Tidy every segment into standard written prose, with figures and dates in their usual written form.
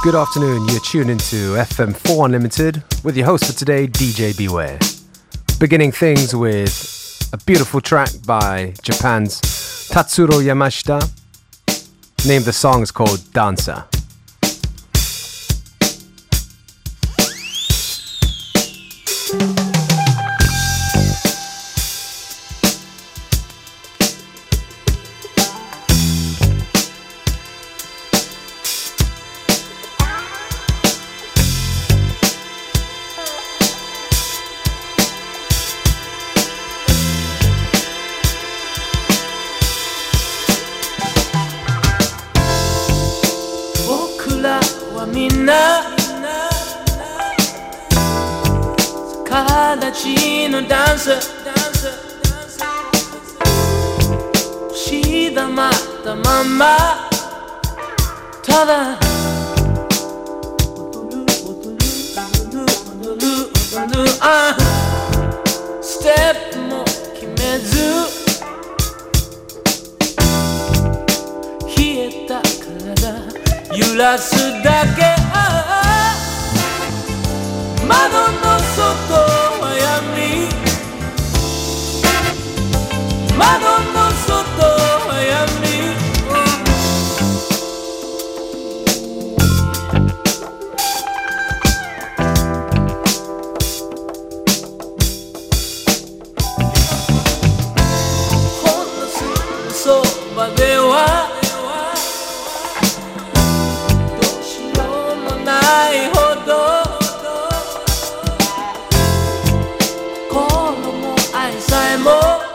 Good afternoon, you're tuned into FM4 Unlimited with your host for today, DJ Beware. Beginning things with a beautiful track by Japan's Tatsuro Yamashita. Name of the song is called Dancer. 形のダンスしだまったまんまただ踊るステップも決めず冷えた体揺らすだけ窓の外は闇窓の外は闇ほんのすぐそばではどうしようもないほどさえも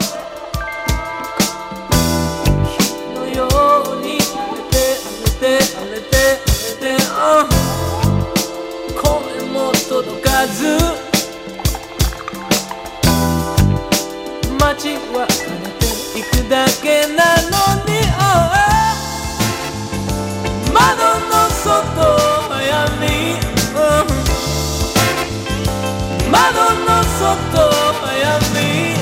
火のように荒れて声も届かず街は枯れていくだけなのに窓の外は闇窓の外は闇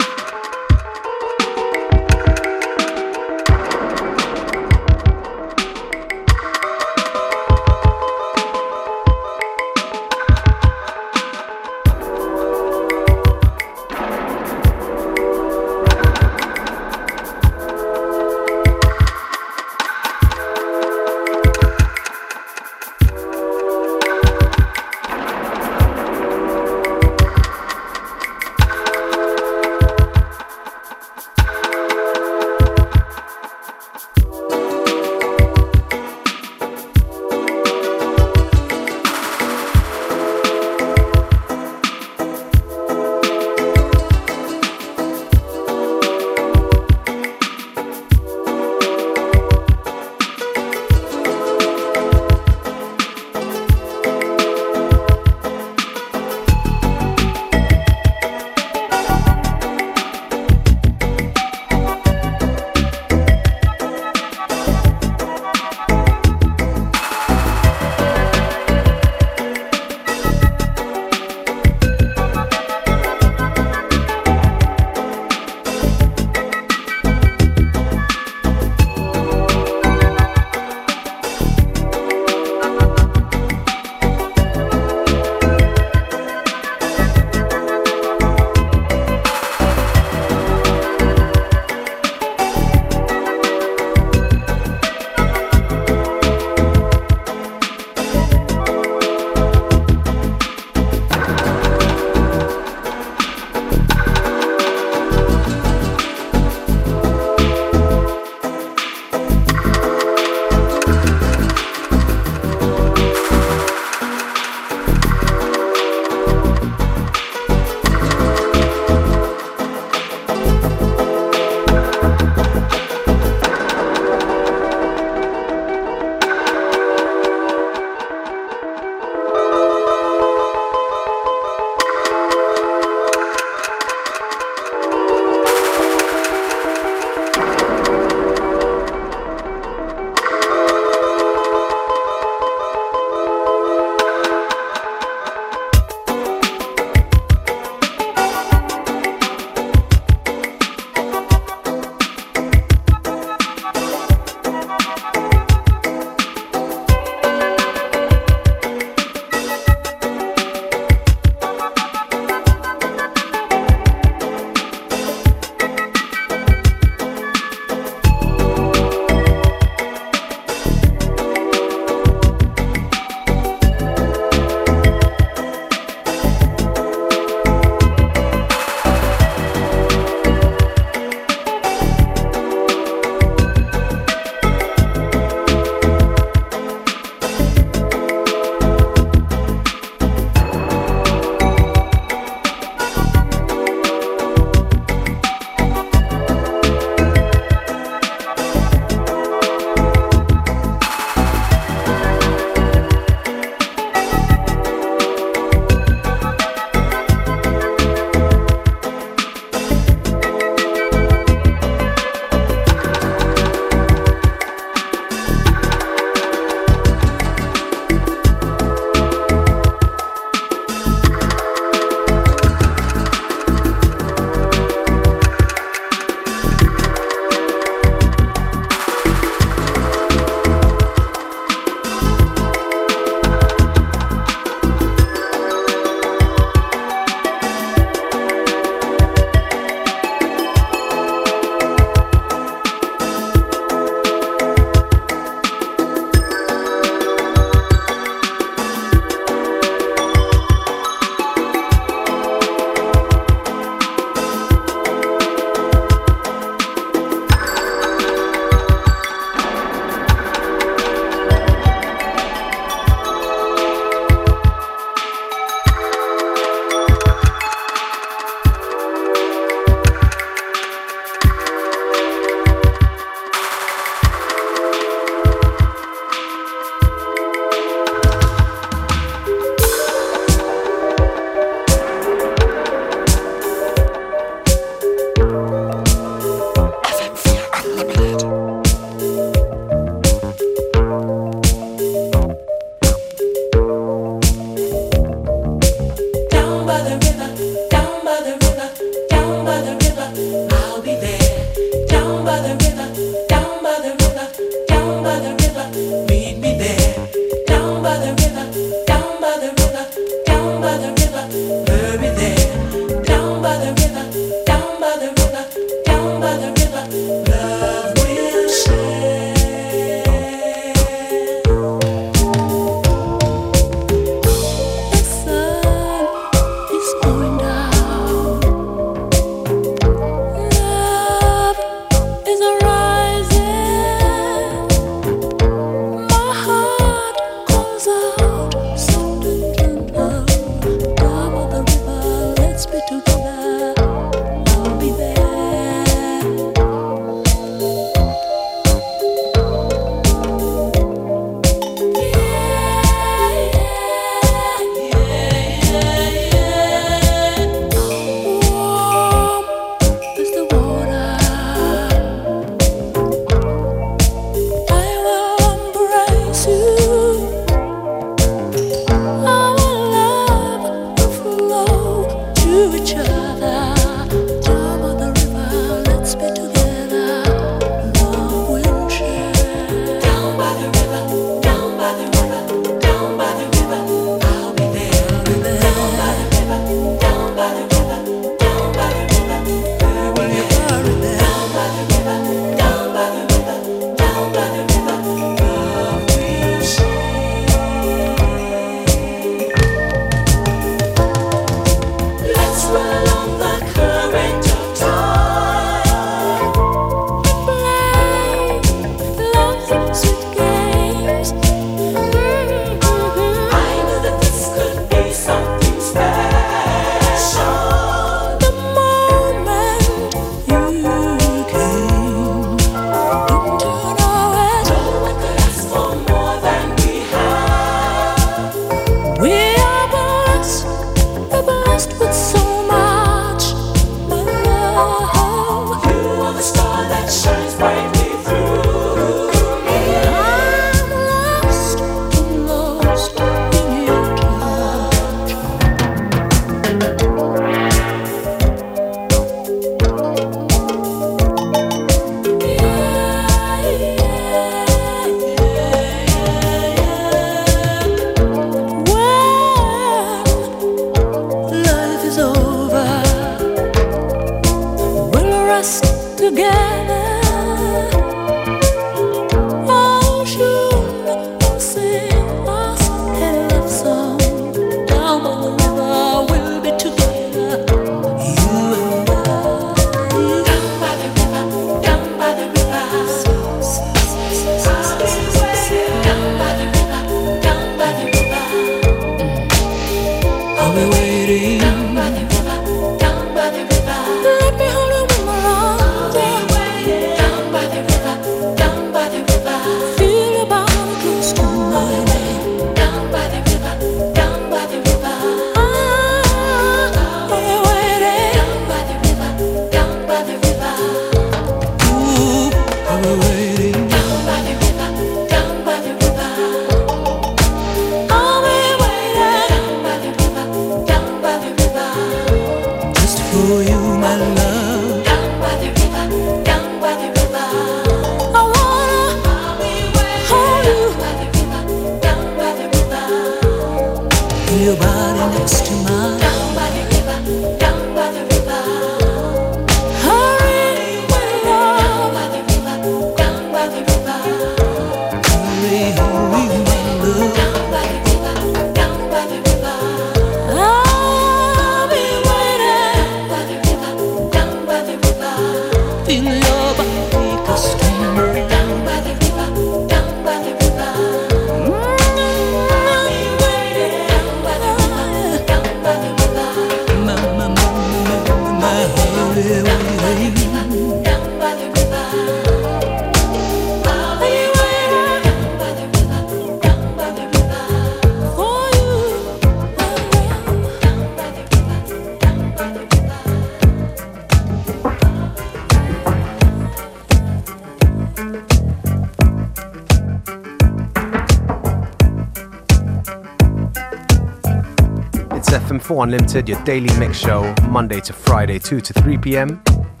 FM4 Unlimited, your daily mix show, Monday to Friday, 2 to 3 p.m.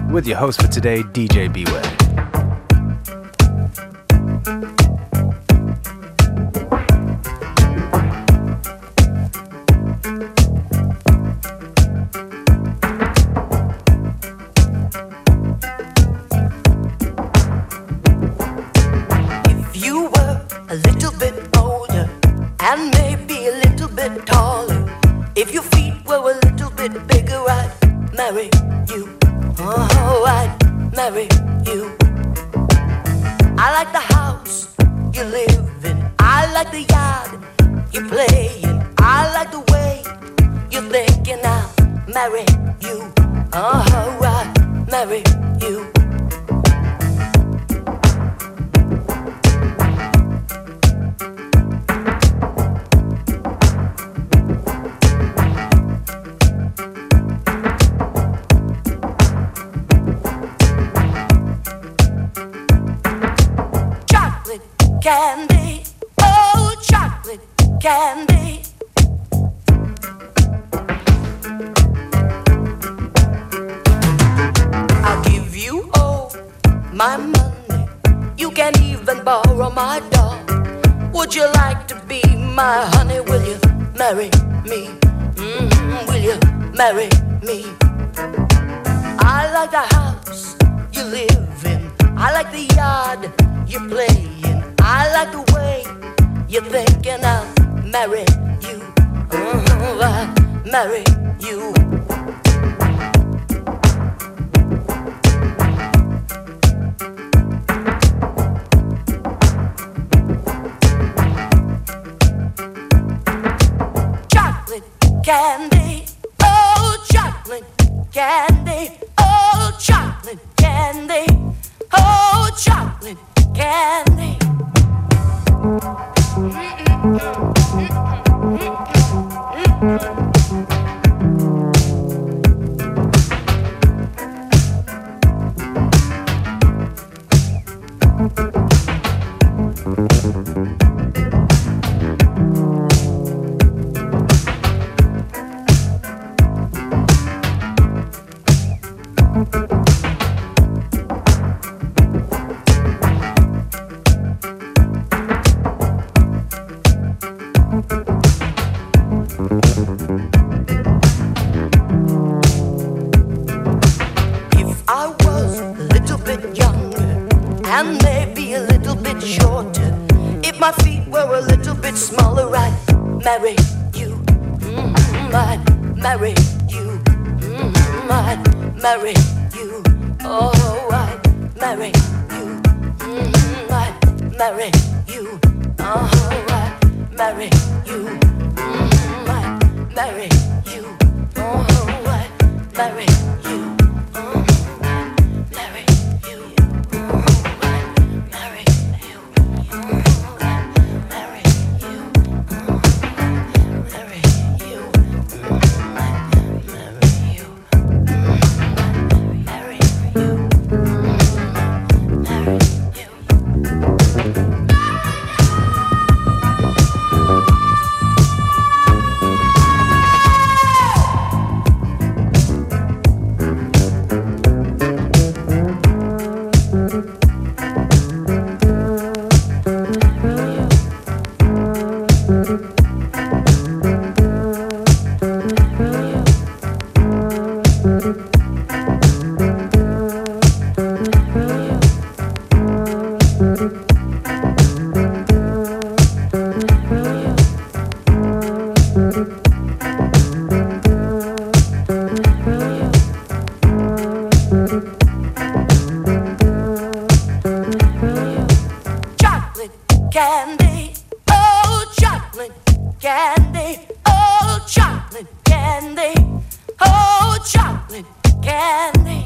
with your host for today, DJ Beware. Candy, oh chocolate candy. I'll give you all my money. You can even borrow my doll. Would you like to be my honey? Will you marry me? Will you marry me? I like the house you live in. I like the yard you play in. I like the way you're thinking I'll marry you. I'll marry you. Chocolate candy, oh chocolate candy, oh chocolate candy, oh chocolate candy. And maybe a little bit shorter. If my feet were a little bit smaller, I'd marry you. I'd marry you. I'd marry you. Oh, I'd marry you. I'd marry you. Oh, I'd marry you. I'd marry you. Oh, I'd marry you. Candy, oh chocolate candy, oh chocolate candy, oh chocolate candy.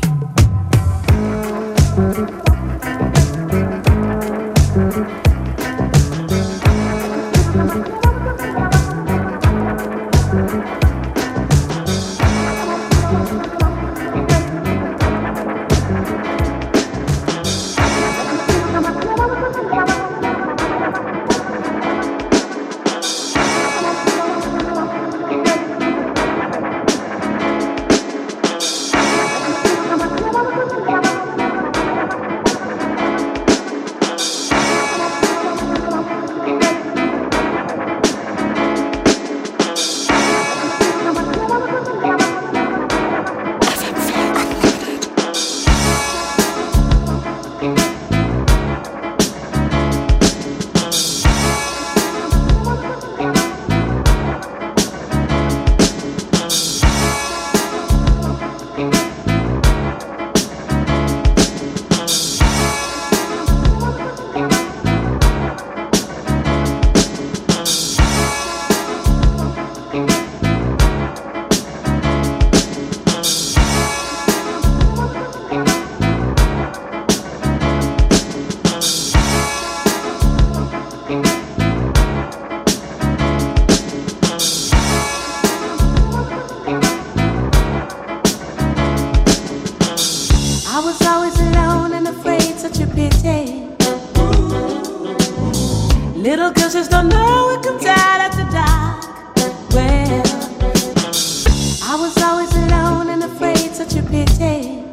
Little girls just don't know it comes out after dark. Well, I was always alone and afraid, such a pity.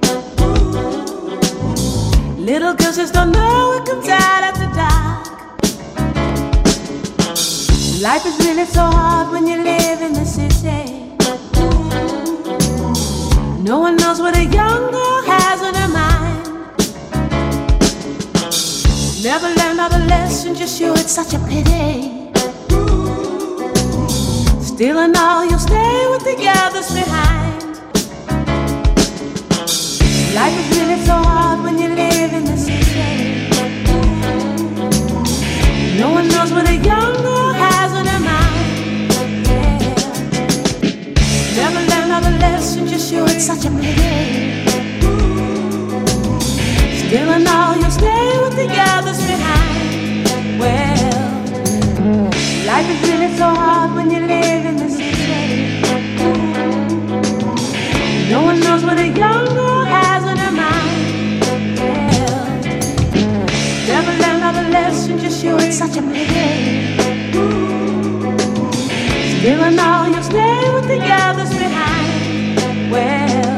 Little girls just don't know it comes out after dark. Life is really so hard when you live in the city. No one knows what a young girl has on her mind. Never learned all the lessons, you're sure it's such a pity. Still and all, you'll stay with the others behind. Life is really so hard when you live in the city. No one knows what a young girl has on her mind. Yeah. Never learned all the lessons, you're sure it's such a pity. Still and all, you'll stay with the others behind. Well, life is really so hard when you live in the city. No one knows what a young girl has on her mind. Well, never learned all the lessons, you're sure it's such a pity. Still and all, you'll stay with the others behind. Well,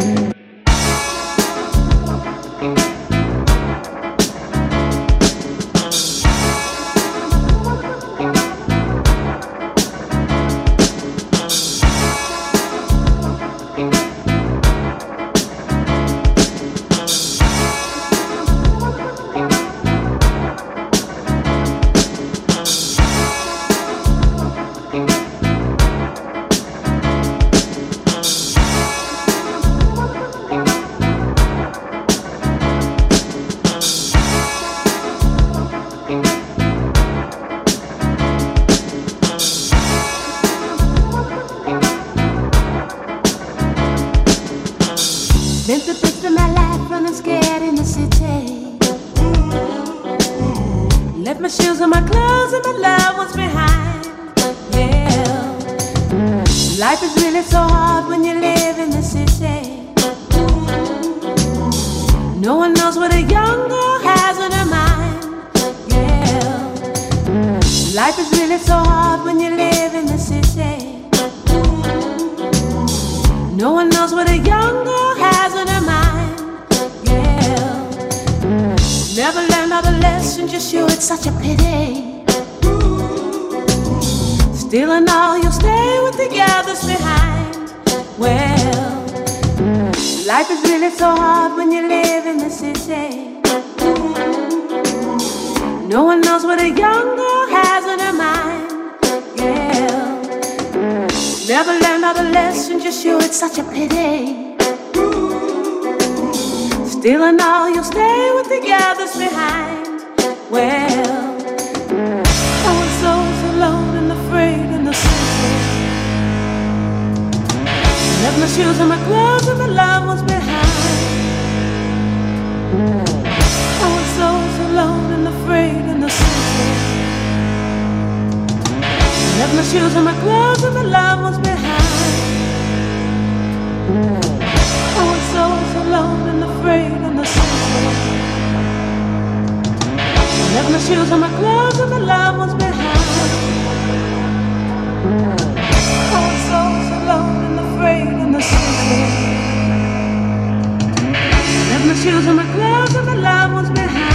still and all, you'll stay with the others behind. Well, I was always alone and afraid in the city. Left my shoes and my clothes and my love was behind. I was always alone and afraid in the city. Left my shoes and my clothes and my love was behind. I was always alone and afraid in the city. Left my shoes and my clothes and my love was behind. I was always alone and afraid in the city. Left my shoes and my clothes and my love was behind.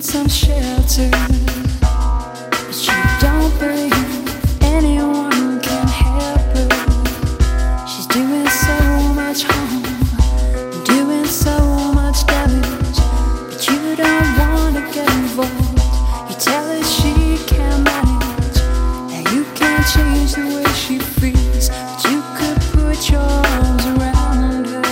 some shelter, but you don't believe anyone can help her. She's doing so much harm, doing so much damage, but you don't want to get involved. You tell her she can't manage, that you can't change the way she feels, but you could put your arms around her.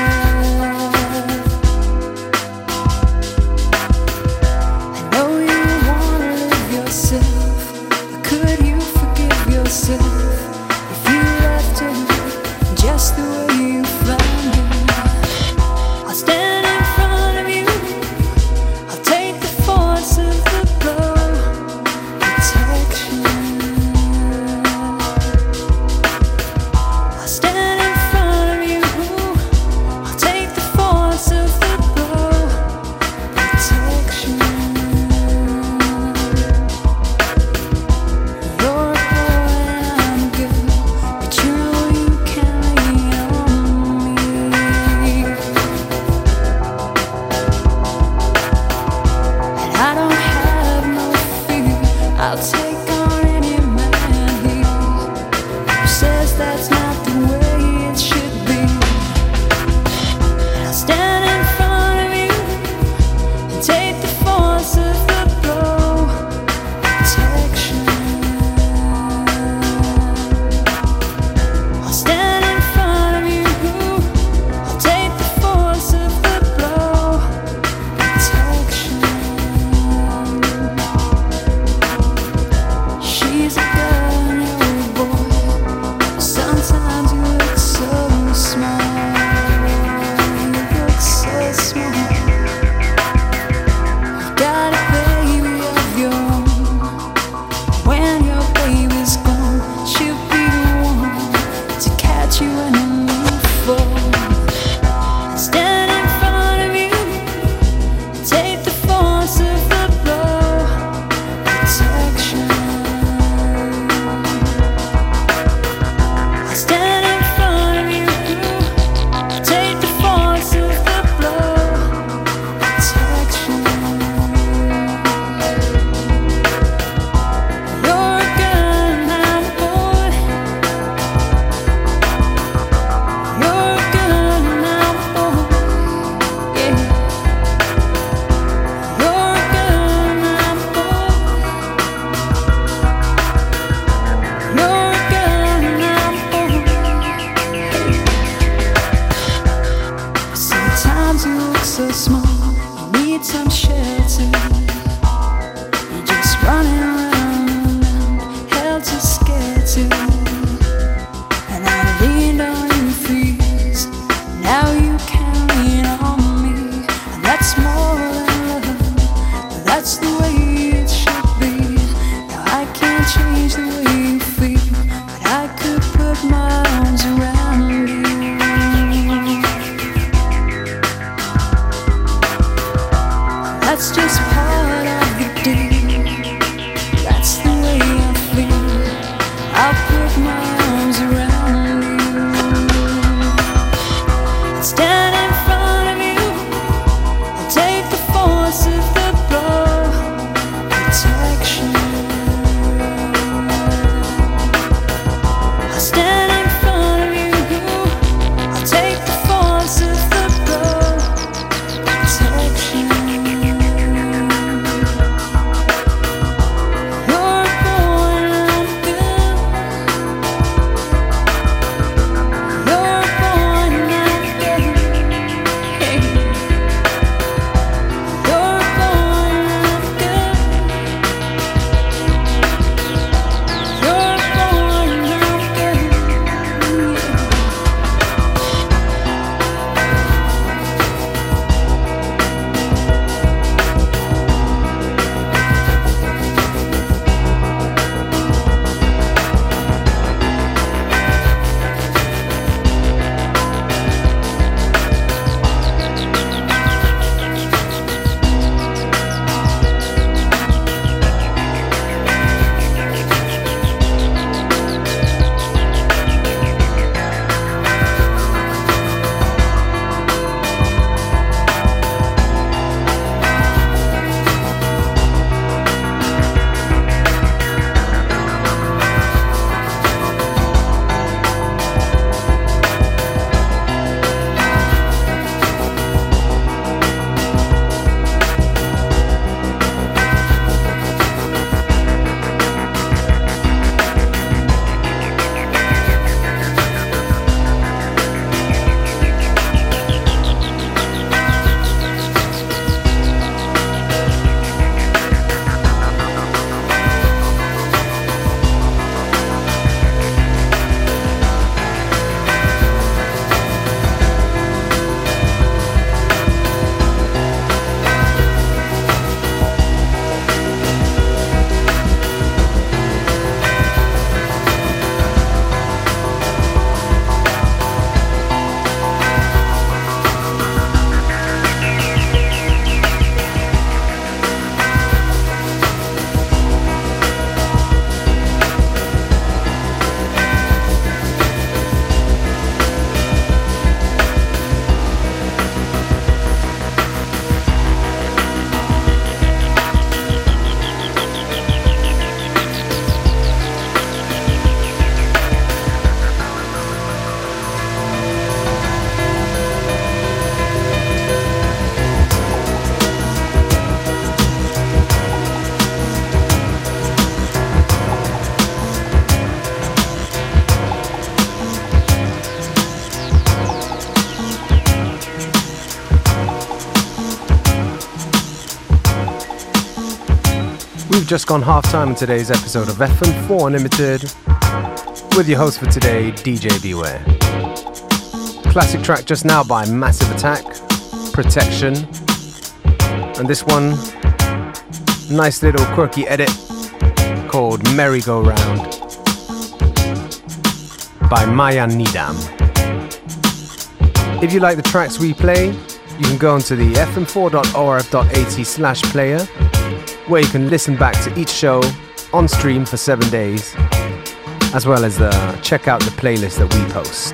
I know you wanna live yourself, but could you forgive yourself if you left her just the way you found her? I'll stand in front of you, I'll take the force of the blow, protection. I'll stand in front of you, I'll take the force of the blow, protection. You're a boy and I'm a girl, but you know you can lean on me. And I don't have no fear, I'll take on any man here who says that's not the way it should be. And I'll stand in front of you and take the force of the blow, protection. I'll stand in front of you, I'll take the force of the blow, protection. She's a girl and you're a boy, sometimes you look so small, you look so small. You've got a baby of your own. When your baby's gone, she'll be the one to catch you when you fall. Stand in front of you, take the force of the blow, protection. I stand in front of you, take the force of the blow, protection. You're a girl and I'm a boy. You're a girl and I'm a boy. Yeah. You're a girl and I'm a boy. You're a girl and I'm a boy. Sometimes you look so small, you need some shelter. You're just running around, held too scared to. And I leaned on you for years, now you can lean on me. And that's more than love, but that's the way it should be. Now I can't change the way you feel, but I could put my arms around you. That's just part of the deal, that's the way I feel. I'll put my arms around you and stand in front of you and take the force of the blow, protection. I'll stand in front of you, I'll take the force of the blow, protection. You're a boy and I'm a girl. You're a boy and I'm a girl. just gone half time in today's episode of FM4 Unlimited with your host for today, DJ Beware. Classic track just now by Massive Attack, Protection. And this one, nice little quirky edit called Merry-Go-Round by Maya Nidam. If you like the tracks we play, you can go onto the fm4.orf.at/player, where you can listen back to each show on stream for 7 days, as well as check out the playlist that we post.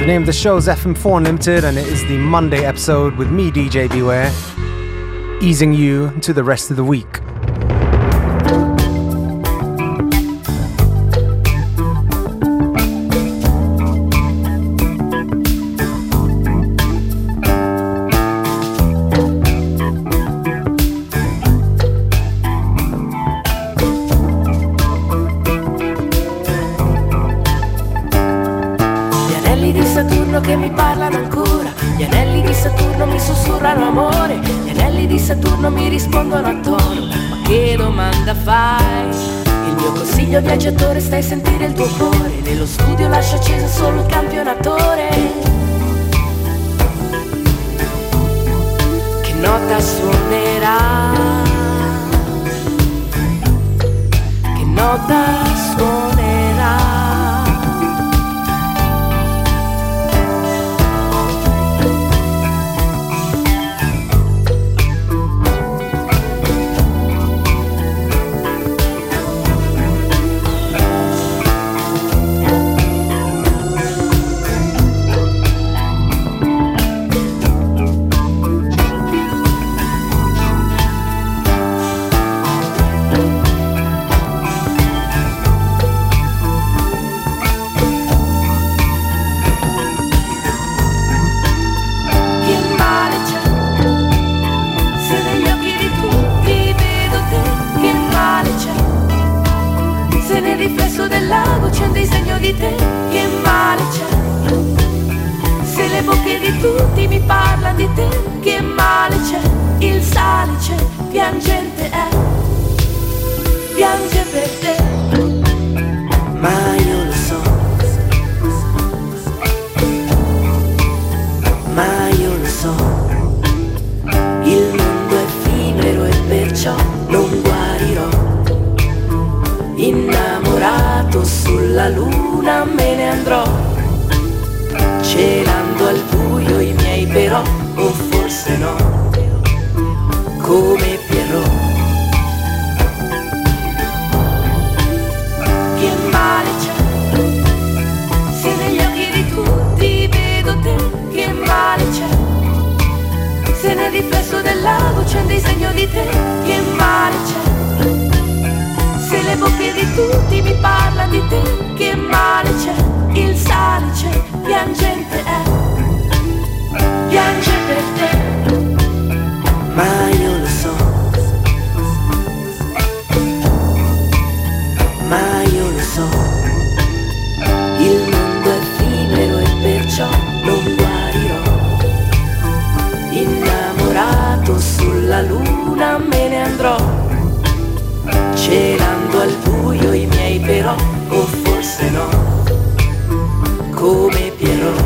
The name of the show is FM4 Unlimited, and it is the Monday episode with me, DJ Beware, easing you into the rest of the week. Che mi parlano ancora, gli anelli di Saturno mi sussurrano amore, gli anelli di Saturno mi rispondono a tono, ma che domanda fai? Il mio consiglio viaggiatore, stai a sentire il tuo cuore, nello studio lascia acceso solo il campionatore. Che nota suonerà? Che nota suonerà? Del lago c'è un disegno di te, che male c'è? Se le bocche di tutti mi parlano di te, che male c'è? Il sale c'è, piangente è, piange per te, ma io lo so, ma io lo so, il mondo è effimero e perciò non guarirò. Innamorato sulla luna me ne andrò, celando al buio i miei però, o forse no, come Pierrot. Che male c'è? Se negli occhi di tutti vedo te, che male c'è? Se nel riflesso del lago c'è un disegno di te, che male c'è? Se le bocche di tutti mi parlano di te, che male c'è? Il sale c'è, piangente è, piange per te, ma io lo so, ma io lo so, il mondo è effimero e perciò non guarirò. Innamorato sulla luna me ne andrò, celando al buio i miei però, o forse no, come Pierrot.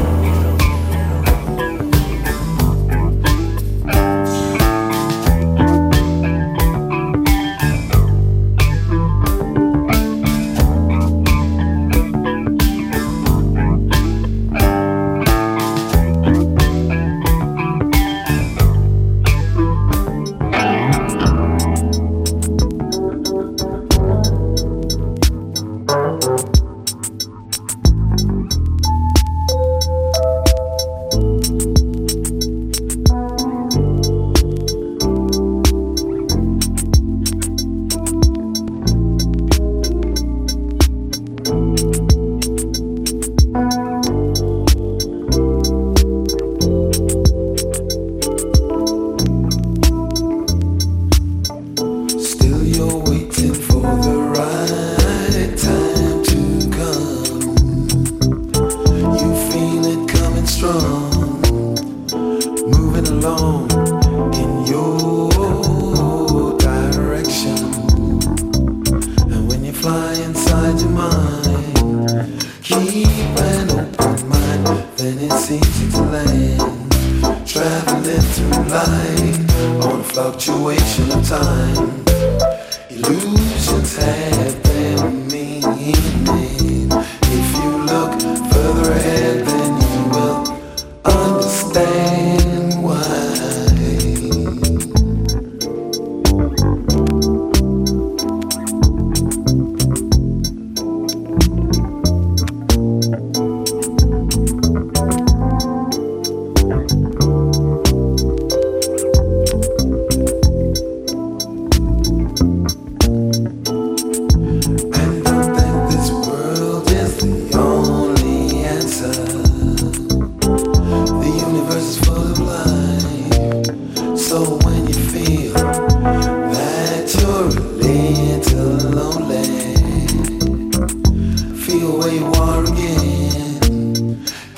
Fluctuation of time, illusions have their meaning. If you look further ahead, then you will understand why.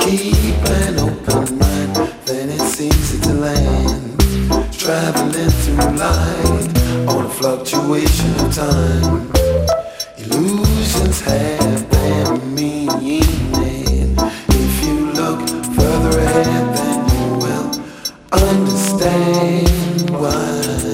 keep an open mind, then it's easy to land. Traveling through light on a fluctuation of time. Illusions have their meaning. If you look further ahead, then you will understand why.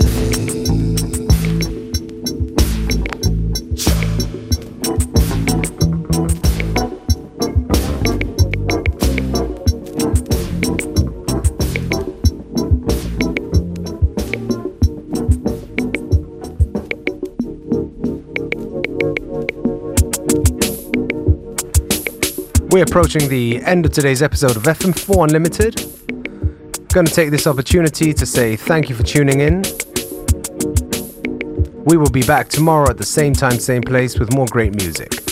We're approaching the end of today's episode of FM4 Unlimited. Going to take this opportunity to say thank you for tuning in. We will be back tomorrow at the same time, same place with more great music.